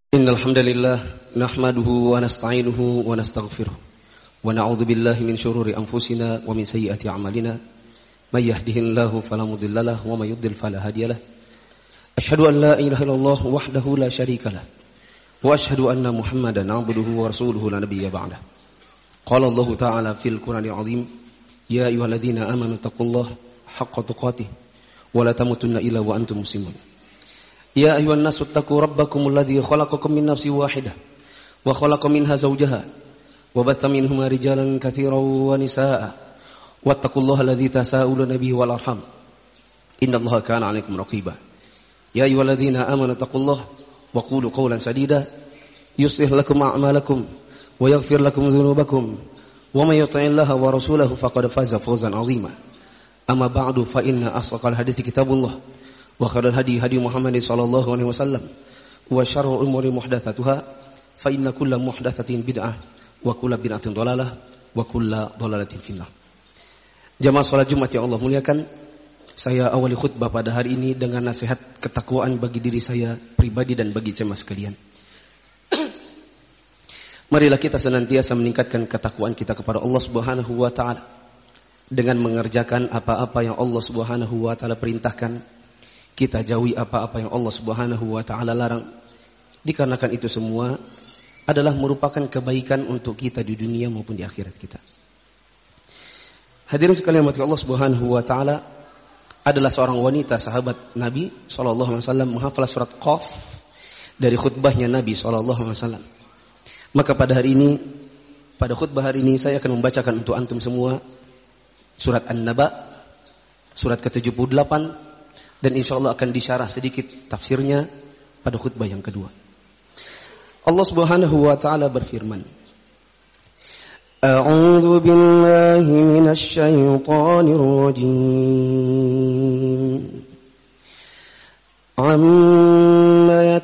Innal hamdalillah nahmaduhu wa nasta'inuhu wa nastaghfiruh wa na'udzu billahi min shururi anfusina wa min sayyiati a'malina may yahdihillahu fala mudilla lahu wa may yudlil fala hadiya lahu asyhadu an la ilaha illallah wahdahu la syarika lahu wa asyhadu anna muhammadan 'abduhu wa rasuluhu la nabiyya ba'dah. Qala Allah ta'ala fil Qur'anil 'azim ya ayyuhalladzina amanu taqullaha haqqa tuqatih wa la tamutunna illa wa antum muslimun. Ya ayuhan nasu taqu rabbakumul ladzi khalaqakum min nafsin wahidah wa khalaqa minha zawjaha wa batha minhuma rijalan katsiran wa nisaa wattaqullaha alladzi tasaaluna bihi wal arham innallaha kana 'alaikum raqiba. Ya ayyuhalladzina amanu taqullaha wa qulu qawlan sadida yuslih lakum a'malakum wa yaghfir lakum dhunubakum wa may yuti'illaha wa rasulahu faqad faza fawzan 'azima. Amma ba'du fa inna asdaqal hadithi kitabullah wa khairal hadi hadi Muhammadin sallallahu alaihi wasallam wa syarrul umuri muhdatsatuha fa inna kulla muhdatsatin bid'ah wa kulla bid'atin dhalalah wa kulla dhalalatin finnar. Jamaah salat Jumat yang Allah muliakan, saya awali khutbah pada hari ini dengan nasihat ketakwaan bagi diri saya pribadi dan bagi jemaah sekalian. Marilah kita senantiasa meningkatkan ketakwaan kita kepada Allah Subhanahu wa taala dengan mengerjakan apa-apa yang Allah Subhanahu wa taala perintahkan. Kita jauhi apa-apa yang Allah Subhanahu wa taala larang. Dikarenakan itu semua adalah merupakan kebaikan untuk kita di dunia maupun di akhirat kita. Hadirin sekalian, Allah Subhanahu wa taala adalah seorang wanita sahabat Nabi sallallahu alaihi wasallam menghafal surat Qaf dari khutbahnya Nabi sallallahu alaihi wasallam. Maka pada khutbah hari ini saya akan membacakan untuk antum semua surat An-Naba, surat ke-78, dan insyaallah akan disyarah sedikit tafsirnya pada khutbah yang kedua. Allah Subhanahu wa taala berfirman, A'udzu billahi minasy syaithanir rajim. Amma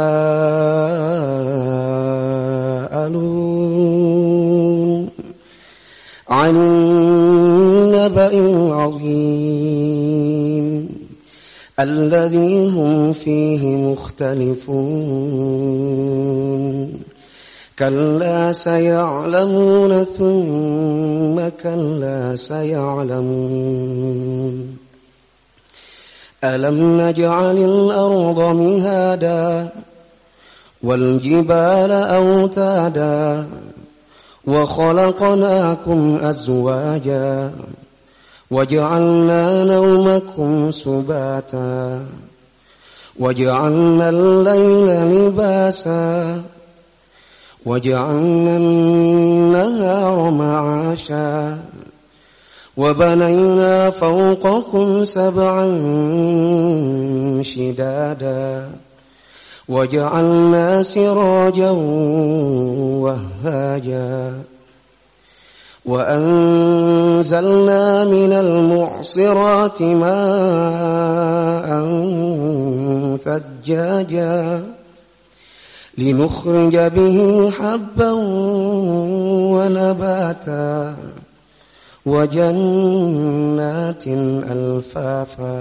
yatasaalun 'anil naba'il 'azim الذي هم فيه مختلفون كلا سيعلمون ثم كلا سيعلمون ألم نجعل الأرض مهادا والجبال أوتادا وخلقناكم أزواجا وجعلنا نومكم سباتا وجعلنا الليل لباسا وجعلنا النهار معاشا وبنينا فوقكم سبعا شدادا وجعلنا سراجا وهاجا وأنزلنا من المعصرات ماء ثجاجا لنخرج به حبا ونباتا وجنات ألفافا.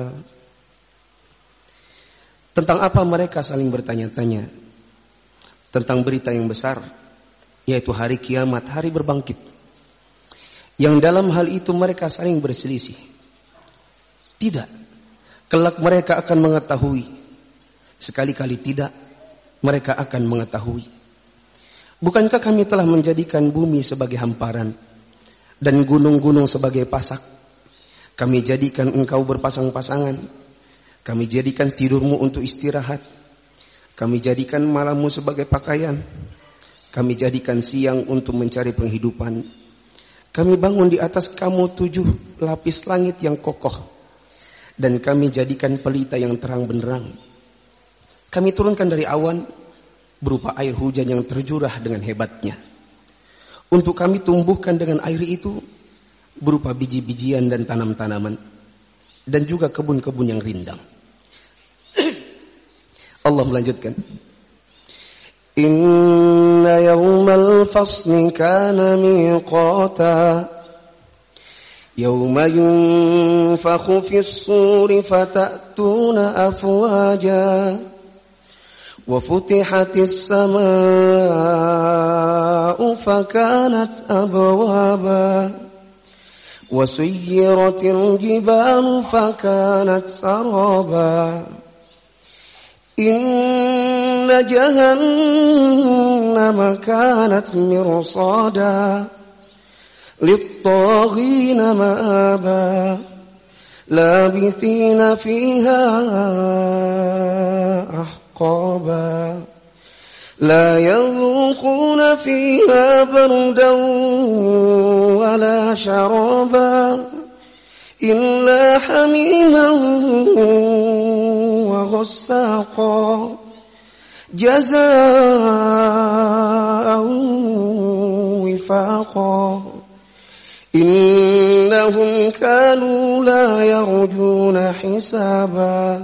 Tentang apa mereka saling bertanya-tanya? Tentang berita yang besar, yaitu hari kiamat, hari berbangkit. Yang dalam hal itu mereka saling berselisih. Tidak, kelak mereka akan mengetahui. Sekali-kali tidak, mereka akan mengetahui. Bukankah kami telah menjadikan bumi sebagai hamparan dan gunung-gunung sebagai pasak? Kami jadikan engkau berpasang-pasangan. Kami jadikan tidurmu untuk istirahat. Kami jadikan malammu sebagai pakaian. Kami jadikan siang untuk mencari penghidupan. Kami bangun di atas kamu 7 lapis langit yang kokoh. Dan kami jadikan pelita yang terang benderang. Kami turunkan dari awan berupa air hujan yang terjurah dengan hebatnya. Untuk kami tumbuhkan dengan air itu berupa biji-bijian dan tanam-tanaman. Dan juga kebun-kebun yang rindang. Allah melanjutkan. Inna yawmal fasli kana miqata yawma yunfakhu fis suri fatatuna afwaja وفتحت السماء فكانت أبوابا وسيرت الجبال فكانت سرابا إن جهنم كانت مرصادا للطاغين مآبا لابثين فيها أحقابا لا يذوقون فيها بردا ولا شرابا إلا حميما وغساقا جزاء وفاقا إنهم كانوا لا يرجون حسابا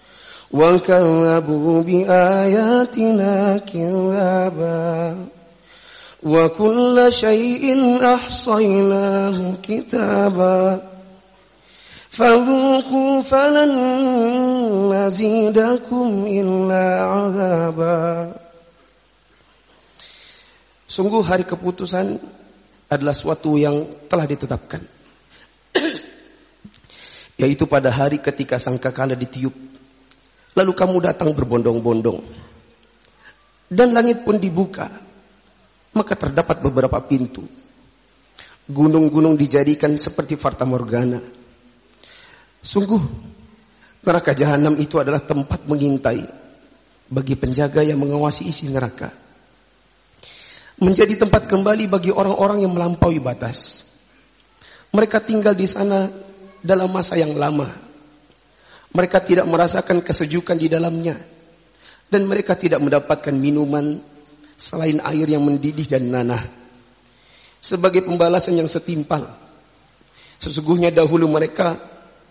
وكذبوا بآياتنا كذابا وكل شيء أحصيناه كتابا فذوقوا فلن نزيدكم إلا عذابا. Sungguh hari keputusan adalah suatu yang telah ditetapkan, yaitu pada hari ketika sangkakala ditiup, lalu kamu datang berbondong-bondong, dan langit pun dibuka, maka terdapat beberapa pintu. Gunung-gunung dijadikan seperti fata morgana. Sungguh neraka jahanam itu adalah tempat mengintai bagi penjaga yang mengawasi isi neraka, menjadi tempat kembali bagi orang-orang yang melampaui batas. Mereka tinggal di sana dalam masa yang lama. Mereka tidak merasakan kesejukan di dalamnya, dan mereka tidak mendapatkan minuman selain air yang mendidih dan nanah. Sebagai pembalasan yang setimpal, sesungguhnya dahulu mereka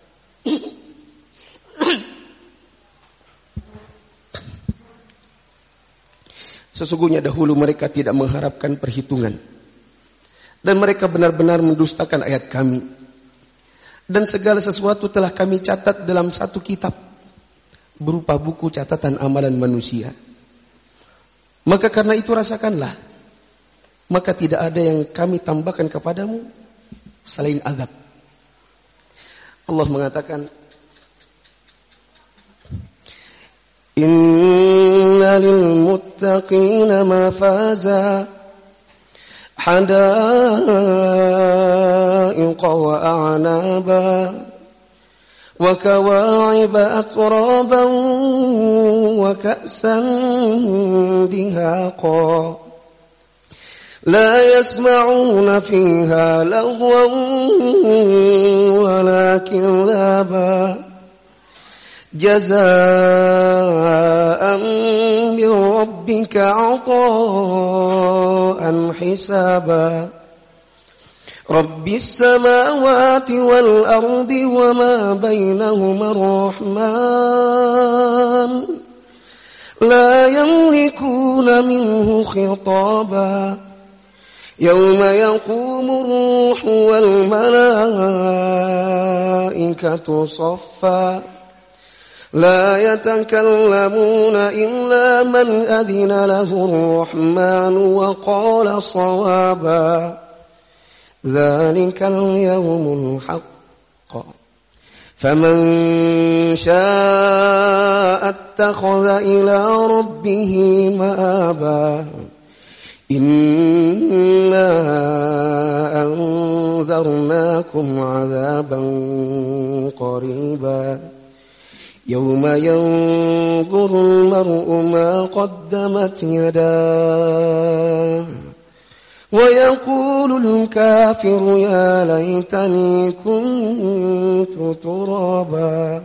tidak mengharapkan perhitungan, dan mereka benar-benar mendustakan ayat kami, dan segala sesuatu telah kami catat dalam satu kitab berupa buku catatan amalan manusia. Maka karena itu rasakanlah, maka tidak ada yang kami tambahkan kepadamu selain azab. Allah mengatakan, Inna lil muttaqina mafaza hadaiqa wa a'naba wa kawa'iba atraban wa ka'san dihaqa la yasma'una fiha lagwan wala kidhaba jazaa'an min rabbika 'ataa'an hisaba rabbis samawati wal ardi wama bainahuma ar-rahman la yamlikuna minhu khitaba yawma yaqumu ar-ruhu wal malaa'ikatu saffa لا يتكلمون إلا من أذن له الرحمن وقال صوابا ذلك اليوم الحق فمن شاء اتخذ إلى ربه مآبا إنا أنذرناكم عذابا قريبا يوم ينظر المرء ما قدمت يداه ويقول الكافر يا ليتني كنت ترابا.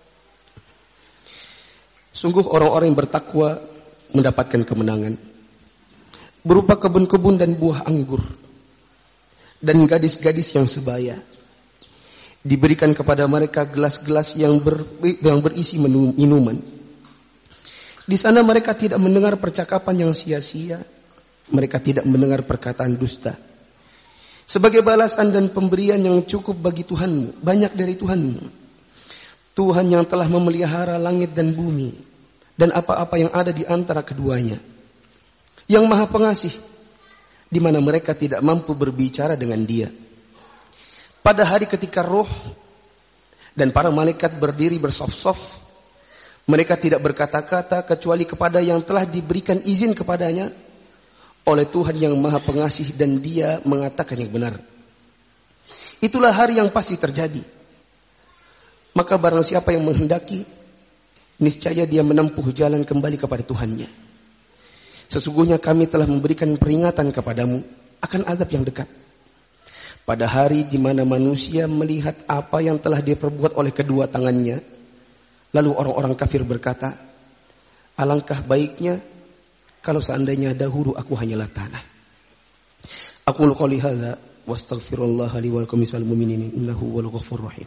Sungguh orang-orang yang bertakwa mendapatkan kemenangan berupa kebun-kebun dan buah anggur dan gadis-gadis yang sebaya. Diberikan kepada mereka gelas-gelas yang berisi minuman. Di sana mereka tidak mendengar percakapan yang sia-sia. Mereka tidak mendengar perkataan dusta. Sebagai balasan dan pemberian yang cukup bagi Tuhanmu, banyak dari Tuhanmu, Tuhan yang telah memelihara langit dan bumi, dan apa-apa yang ada di antara keduanya. Yang Maha Pengasih, di mana mereka tidak mampu berbicara dengan Dia. Pada hari ketika roh dan para malaikat berdiri bersaf-saf, mereka tidak berkata-kata kecuali kepada yang telah diberikan izin kepadanya oleh Tuhan yang Maha Pengasih, dan Dia mengatakan yang benar. Itulah hari yang pasti terjadi. Maka barang siapa yang menghendaki, niscaya dia menempuh jalan kembali kepada Tuhannya. Sesungguhnya kami telah memberikan peringatan kepadamu akan azab yang dekat. Pada hari di mana manusia melihat apa yang telah dia perbuat oleh kedua tangannya, lalu orang-orang kafir berkata, alangkah baiknya kalau seandainya dahulu aku hanyalah tanah. Aqulu qouli hadza wa astaghfirullah li wa lakum misal mu'minin innahu wal ghafurur rahim.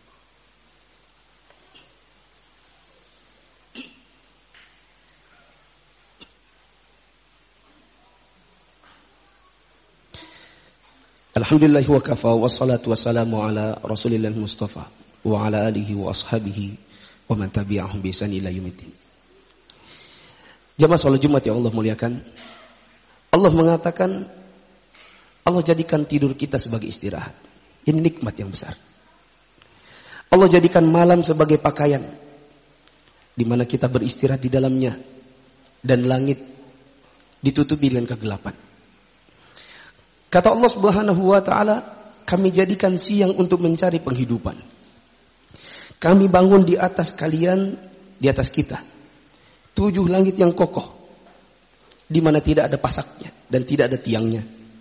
Alhamdulillah wa kafa wa salatu wassalamu ala rasulillah mustafa wa ala alihi wa ashabihi wa man tabi'ahum bi ihsan ila yaumiddin. Jamaah salat Jumat yang Allah muliakan, Allah mengatakan, Allah jadikan tidur kita sebagai istirahat. Ini nikmat yang besar. Allah jadikan malam sebagai pakaian di mana kita beristirahat di dalamnya, dan langit ditutupi dengan kegelapan. Kata Allah Subhanahu wa taala, kami jadikan siang untuk mencari penghidupan. Kami bangun di atas kalian, di atas kita, 7 langit yang kokoh, di mana tidak ada pasaknya dan tidak ada tiangnya.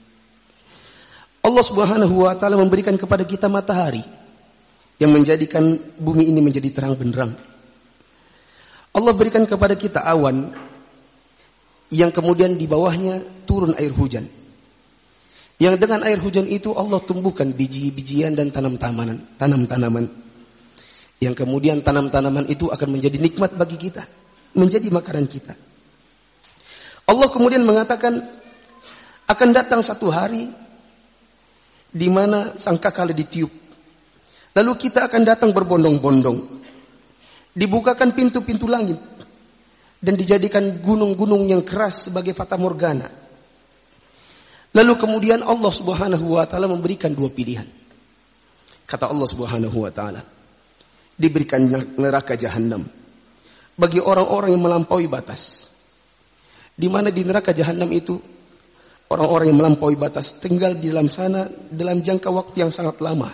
Allah Subhanahu wa taala memberikan kepada kita matahari yang menjadikan bumi ini menjadi terang benderang. Allah berikan kepada kita awan yang kemudian di bawahnya turun air hujan. Yang dengan air hujan itu Allah tumbuhkan biji-bijian dan tanam-tanaman. Yang kemudian tanam-tanaman itu akan menjadi nikmat bagi kita, menjadi makanan kita. Allah kemudian mengatakan, akan datang satu hari di mana sangkakala ditiup. Lalu kita akan datang berbondong-bondong. Dibukakan pintu-pintu langit dan dijadikan gunung-gunung yang keras sebagai fata morgana. Lalu kemudian Allah Subhanahu wa taala memberikan 2 pilihan. Kata Allah Subhanahu wa taala, diberikan neraka jahanam bagi orang-orang yang melampaui batas. Di mana di neraka jahanam itu orang-orang yang melampaui batas tinggal di dalam sana dalam jangka waktu yang sangat lama.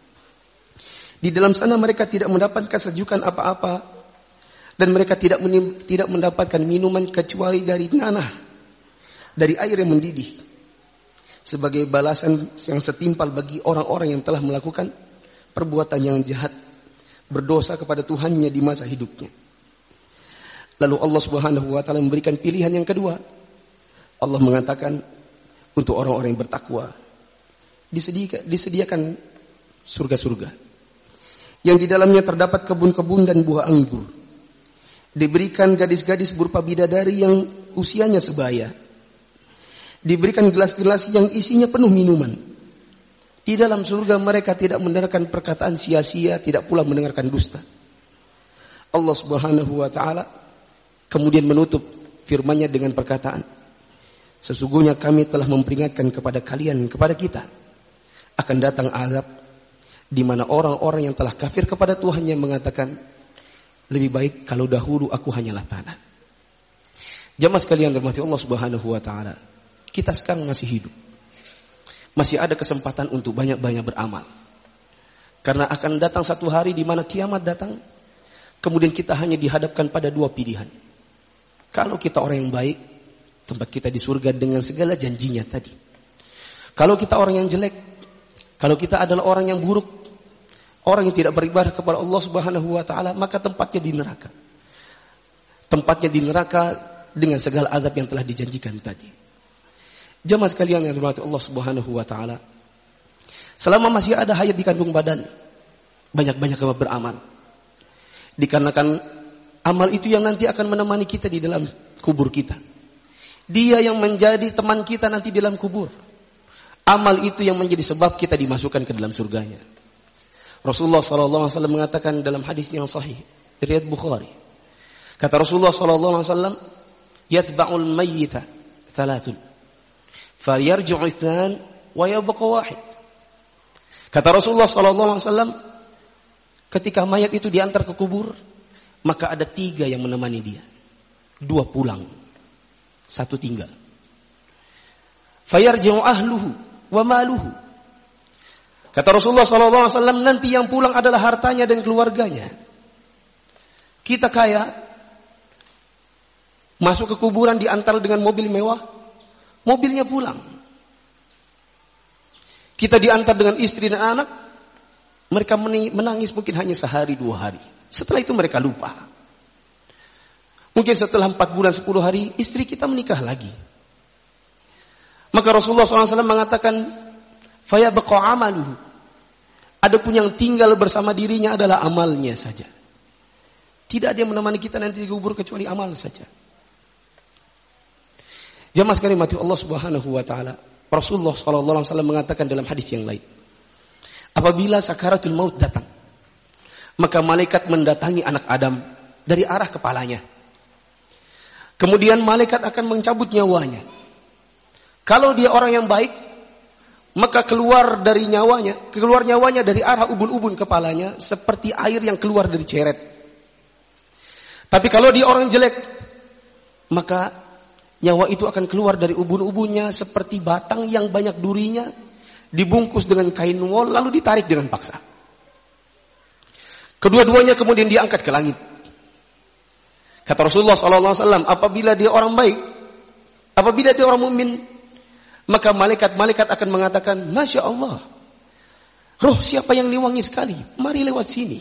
Di dalam sana mereka tidak mendapatkan sejukan apa-apa, dan mereka tidak mendapatkan minuman kecuali dari nanah, dari air yang mendidih, sebagai balasan yang setimpal bagi orang-orang yang telah melakukan perbuatan yang jahat, berdosa kepada Tuhannya di masa hidupnya. Lalu Allah Subhanahu wa taala memberikan pilihan yang kedua. Allah mengatakan, untuk orang-orang yang bertakwa disediakan surga-surga yang di dalamnya terdapat kebun-kebun dan buah anggur. Diberikan gadis-gadis berupa bidadari yang usianya sebaya. Diberikan gelas-gelas yang isinya penuh minuman. Di dalam surga mereka tidak mendengarkan perkataan sia-sia, tidak pula mendengarkan dusta. Allah Subhanahu wa taala kemudian menutup firman-Nya dengan perkataan, sesungguhnya kami telah memperingatkan kepada kalian, kepada kita, akan datang azab di mana orang-orang yang telah kafir kepada Tuhannya mengatakan, lebih baik kalau dahulu aku hanyalah tanah. Jamaah sekalian dirahmati Allah Subhanahu wa taala, kita sekarang masih hidup. Masih ada kesempatan untuk banyak-banyak beramal. Karena akan datang satu hari di mana kiamat datang, kemudian kita hanya dihadapkan pada 2 pilihan. Kalau kita orang yang baik, tempat kita di surga dengan segala janjinya tadi. Kalau kita orang yang jelek, kalau kita adalah orang yang buruk, orang yang tidak beribadah kepada Allah Subhanahu wa taala, maka tempatnya di neraka. Tempatnya di neraka dengan segala azab yang telah dijanjikan tadi. Jamaah sekalian yang dirahmati Allah Subhanahu wa taala, selama masih ada hayat di kandung badan, banyak-banyak beramal. Dikarenakan amal itu yang nanti akan menemani kita di dalam kubur kita. Dia yang menjadi teman kita nanti di dalam kubur. Amal itu yang menjadi sebab kita dimasukkan ke dalam surganya. Rasulullah SAW mengatakan dalam hadis yang sahih riwayat Bukhari, Kata Rasulullah sallallahu alaihi wasallam, "Yatba'ul mayyita thalathun. Fayarji'u itsnan wa yabqa wahid." Kata Rasulullah sallallahu alaihi wasallam, ketika mayat itu diantar ke kubur, maka ada 3 yang menemani dia. 2 pulang, 1 tinggal. Fayarji'u ahluhu wa maluhu. Kata Rasulullah sallallahu alaihi wasallam, nanti yang pulang adalah hartanya dan keluarganya. Kita kaya, masuk ke kuburan diantar dengan mobil mewah, mobilnya pulang. Kita diantar dengan istri dan anak, mereka menangis mungkin hanya sehari 2 hari. Setelah itu mereka lupa. Mungkin setelah 4 bulan 10 hari, istri kita menikah lagi. Maka Rasulullah SAW mengatakan, "Fayabqa amaluhu." Adapun yang tinggal bersama dirinya adalah amalnya saja. Tidak ada yang menemani kita nanti di kubur kecuali amal saja. Jamaah sekalian mati Allah Subhanahu wa taala, Rasulullah sallallahu alaihi wasallam mengatakan dalam hadis yang lain, apabila sakaratul maut datang, maka malaikat mendatangi anak Adam dari arah kepalanya. Kemudian malaikat akan mencabut nyawanya. Kalau dia orang yang baik, maka keluar nyawanya dari arah ubun-ubun kepalanya seperti air yang keluar dari ceret. Tapi kalau dia orang jelek, maka nyawa itu akan keluar dari ubun-ubunnya seperti batang yang banyak durinya, dibungkus dengan kain wol lalu ditarik dengan paksa. Kedua-duanya kemudian diangkat ke langit. Kata Rasulullah SAW, apabila dia orang baik, apabila dia orang mukmin, maka malaikat-malaikat akan mengatakan, Masya Allah, roh siapa yang wangi sekali, mari lewat sini.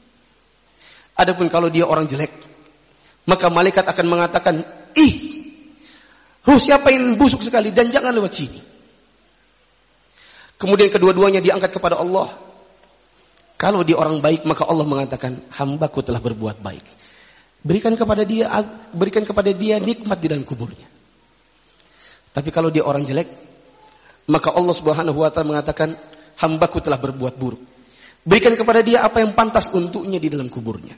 Adapun kalau dia orang jelek, maka malaikat akan mengatakan, roh siapa yang busuk sekali dan jangan lewat sini. Kemudian kedua-duanya diangkat kepada Allah. Kalau dia orang baik, maka Allah mengatakan, hambaku telah berbuat baik. Berikan kepada dia nikmat di dalam kuburnya. Tapi kalau dia orang jelek, maka Allah Subhanahu wa taala mengatakan, hambaku telah berbuat buruk. Berikan kepada dia apa yang pantas untuknya di dalam kuburnya.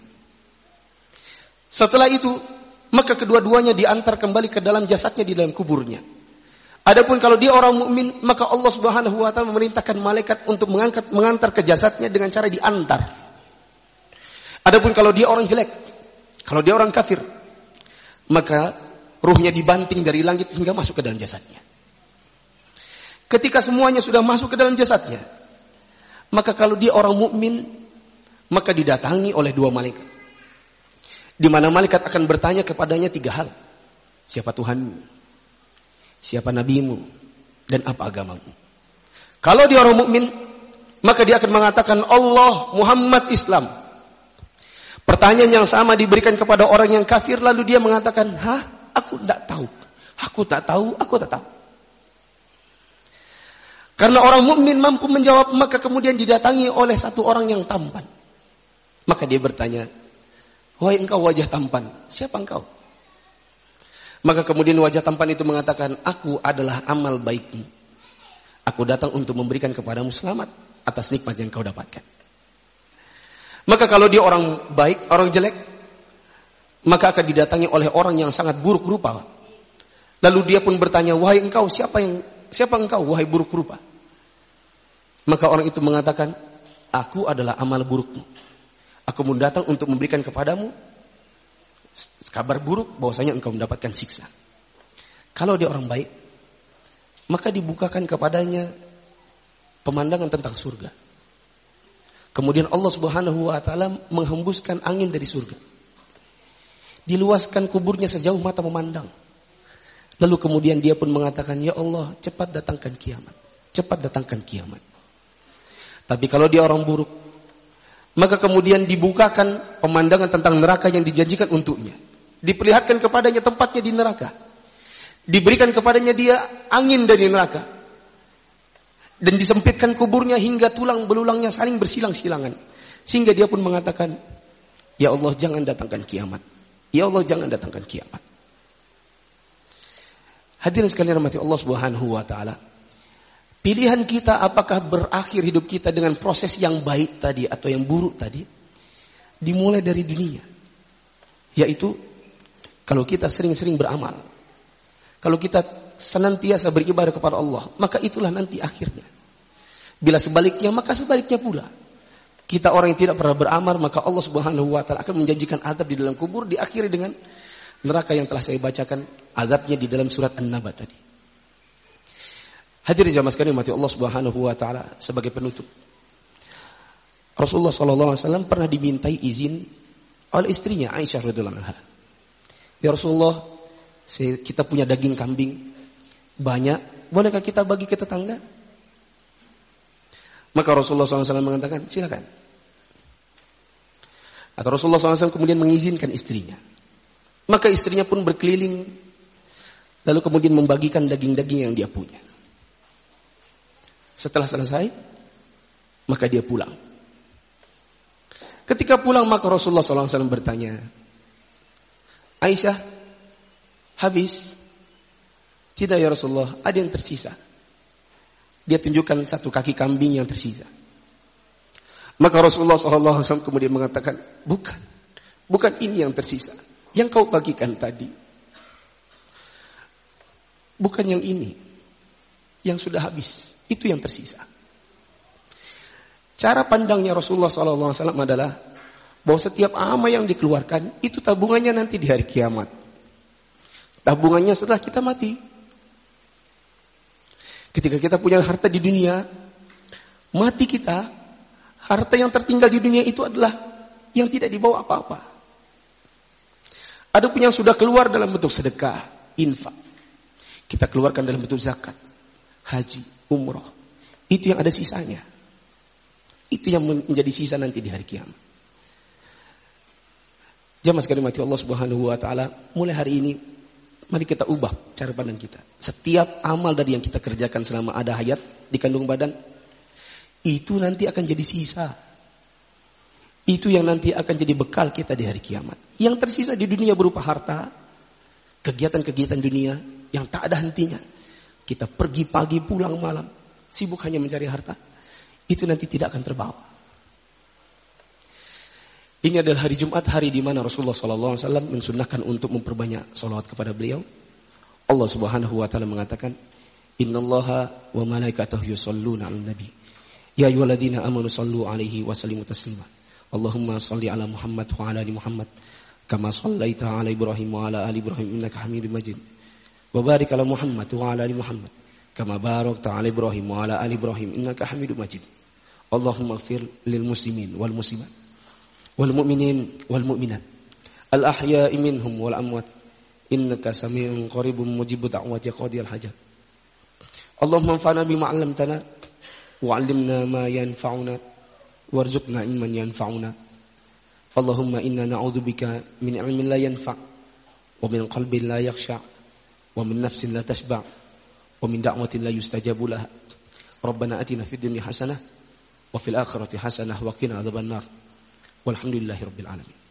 Setelah itu, maka kedua-duanya diantar kembali ke dalam jasadnya di dalam kuburnya. Adapun kalau dia orang mukmin, maka Allah Subhanahu wa taala memerintahkan malaikat untuk mengantar ke jasadnya dengan cara diantar. Adapun kalau dia orang jelek, kalau dia orang kafir, maka ruhnya dibanting dari langit hingga masuk ke dalam jasadnya. Ketika semuanya sudah masuk ke dalam jasadnya, maka kalau dia orang mukmin, maka didatangi oleh 2 malaikat. Di mana malaikat akan bertanya kepadanya 3 hal. Siapa Tuhanmu? Siapa nabimu? Dan apa agamamu? Kalau dia orang mukmin, maka dia akan mengatakan Allah, Muhammad, Islam. Pertanyaan yang sama diberikan kepada orang yang kafir, lalu dia mengatakan, aku tak tahu. Aku tak tahu. Karena orang mukmin mampu menjawab, maka kemudian didatangi oleh 1 orang yang tampan. Maka dia bertanya, wahai engkau wajah tampan, siapa engkau? Maka kemudian wajah tampan itu mengatakan, aku adalah amal baikmu. Aku datang untuk memberikan kepadamu selamat atas nikmat yang kau dapatkan. Maka kalau dia orang baik, orang jelek, maka akan didatangi oleh orang yang sangat buruk rupa. Lalu dia pun bertanya, wahai engkau, siapa engkau, wahai buruk rupa? Maka orang itu mengatakan, aku adalah amal burukmu. Aku pun datang untuk memberikan kepadamu kabar buruk bahwasanya engkau mendapatkan siksa. Kalau dia orang baik, maka dibukakan kepadanya pemandangan tentang surga. Kemudian Allah Subhanahu wa taala menghembuskan angin dari surga. Diluaskan kuburnya sejauh mata memandang. Lalu kemudian dia pun mengatakan, ya Allah, cepat datangkan kiamat. Cepat datangkan kiamat. Tapi kalau dia orang buruk, maka kemudian dibukakan pemandangan tentang neraka yang dijanjikan untuknya. Diperlihatkan kepadanya tempatnya di neraka. Diberikan kepadanya dia angin dari neraka. Dan disempitkan kuburnya hingga tulang belulangnya saling bersilang-silangan. Sehingga dia pun mengatakan, ya Allah, jangan datangkan kiamat. Ya Allah, jangan datangkan kiamat. Hadirin sekalian rahmati Allah Subhanahu wa taala. Pilihan kita apakah berakhir hidup kita dengan proses yang baik tadi atau yang buruk tadi, dimulai dari dunia. Yaitu kalau kita sering-sering beramal, kalau kita senantiasa beribadah kepada Allah, maka itulah nanti akhirnya. Bila sebaliknya, maka sebaliknya pula. Kita orang yang tidak pernah beramal, maka Allah Subhanahu wa taala akan menjanjikan azab di dalam kubur, diakhiri dengan neraka yang telah saya bacakan azabnya di dalam surat An-Naba tadi. Hadirin jamaah sekalian mati Allah Subhanahu wa taala, sebagai penutup. Rasulullah sallallahu alaihi wasallam pernah dimintai izin oleh istrinya Aisyah radhiyallahu anha. Ya Rasulullah, kita punya daging kambing banyak, bolehkah kita bagi ke tetangga? Maka Rasulullah SAW mengatakan, silakan. Atau Rasulullah SAW kemudian mengizinkan istrinya. Maka istrinya pun berkeliling, lalu kemudian membagikan daging-daging yang dia punya. Setelah selesai, maka dia pulang. Ketika pulang, maka Rasulullah SAW bertanya, Aisyah, habis? Tidak ya Rasulullah, ada yang tersisa. Dia tunjukkan satu kaki kambing yang tersisa. Maka Rasulullah SAW kemudian mengatakan, bukan ini yang tersisa, yang kau bagikan tadi. Bukan yang ini, yang sudah habis, itu yang tersisa. Cara pandangnya Rasulullah SAW adalah bahwa setiap amal yang dikeluarkan itu tabungannya nanti di hari kiamat. Tabungannya setelah kita mati. Ketika kita punya harta di dunia, mati kita, harta yang tertinggal di dunia itu adalah yang tidak dibawa apa-apa. Ada pun yang sudah keluar dalam bentuk sedekah, infak. Kita keluarkan dalam bentuk zakat, haji, umroh. Itu yang ada sisanya. Itu yang menjadi sisa nanti di hari kiamat. Jamaah sekalian mati Allah Subhanahu wa taala, mulai hari ini mari kita ubah cara pandang kita. Setiap amal dari yang kita kerjakan selama ada hayat di kandung badan, itu nanti akan jadi sisa. Itu yang nanti akan jadi bekal kita di hari kiamat. Yang tersisa di dunia berupa harta, kegiatan-kegiatan dunia yang tak ada hentinya. Kita pergi pagi pulang malam, sibuk hanya mencari harta. Itu nanti tidak akan terbawa. Ini adalah hari Jumat, hari di mana Rasulullah SAW mensunnahkan untuk memperbanyak salawat kepada beliau. Allah Subhanahu wa taala mengatakan, "Innallaha wa malaikatahu yusholluna 'alan nabi. Ya ayyuhalladzina amanu shallu 'alaihi wa sallimu taslima. Allahumma shalli 'ala Muhammad wa 'ala ali Muhammad kama shallaita 'ala Ibrahim wa 'ala ali Ibrahim innaka Hamidum Majid. Wa barik 'ala Muhammad wa 'ala ali Muhammad kama barakta 'ala Ibrahim wa 'ala ali Ibrahim innaka Hamidum Majid. Allahumma ighfir lil muslimin wal muslimat wal mu'minin wal mu'minat al ahya'i minhum wal amwat innaka sami'un qaribun mujibud da'wati qadiyal hajat. Allahumma anfa'na bima 'allamtana wa 'allimna ma yanfa'una warzuqna ilman yanfa'una. Allahumma inna na'udzubika min 'ilmin la yanfa' wa min qalbin la yakhsha' wa min nafsin la tashba' wa min da'watin la yustajabu laha. Rabbana atina fid dunya hasanah wa fil akhirati hasanah wa qina adzabannar. Walhamdulillahirabbil alamin.